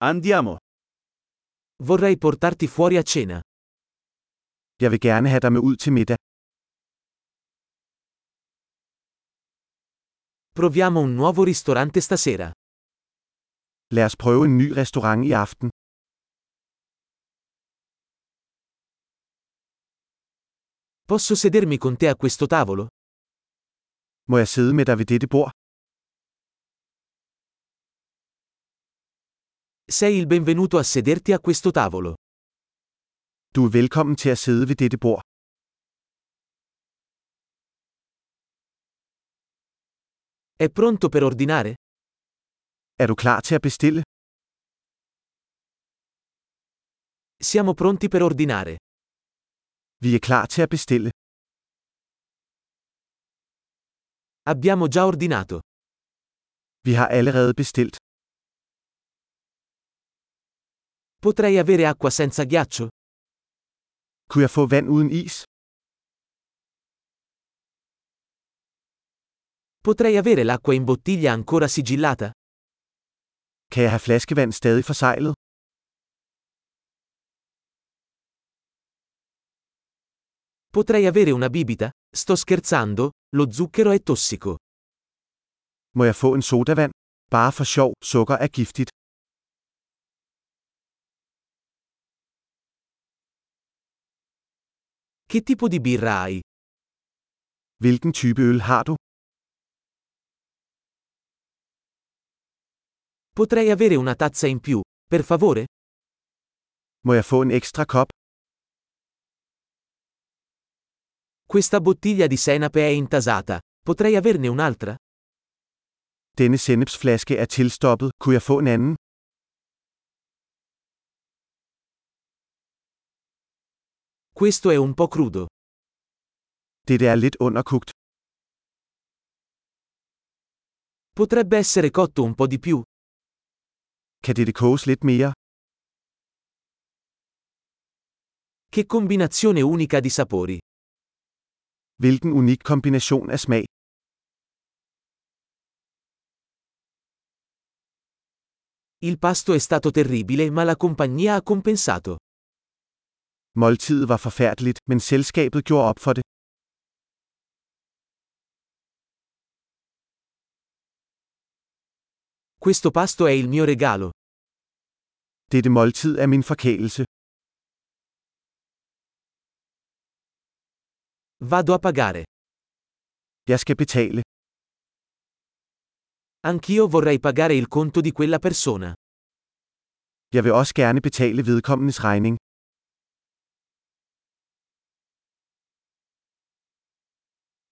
Andiamo. Vorrei portarti fuori a cena. Jeg vil gerne have dig med ud til middag. Proviamo un nuovo ristorante stasera. Lad os prøve en ny restaurant i aften. Posso sedermi con te a questo tavolo? Må jeg sidde med dig ved dette bord? Sei il benvenuto a sederti a questo tavolo. Du er velkommen til at sidde ved dette bord. È pronto per ordinare? Er du klar til at bestille? Siamo pronti per ordinare. Vi er klar til at bestille. Abbiamo già ordinato. Vi har allerede bestilt. Potrei avere acqua senza ghiaccio? Kunne jeg få vand uden is? Potrei avere l'acqua in bottiglia ancora sigillata? Kan jeg have flaskevand stadig forseglet? Potrei avere una bibita? Sto scherzando, lo zucchero è tossico. Må jeg få en sodavand? Bare for sjov, sukker er giftigt. Che tipo di birra hai? Hvilken type øl har du? Potrei avere una tazza in più, per favore? Må jeg få en ekstra kop? Questa bottiglia di senape è intasata. Potrei averne un'altra? Denne sennepsflaske er tilstoppet. Kunne jeg få en anden? Questo è un po' crudo. Dette er lidt underkogt. Potrebbe essere cotto un po' di più. Kan dette koges lidt mere? Che combinazione unica di sapori. Hvilken unik kombination af smag. Il pasto è stato terribile, ma la compagnia ha compensato. Måltidet var forfærdeligt, men selskabet gjorde op for det. Questo pasto è il mio regalo. Dette måltid er min forkælelse. Vado a pagare. Jeg skal betale. Anch'io vorrei pagare il conto di quella persona. Jeg vil også gerne betale vedkommendes regning.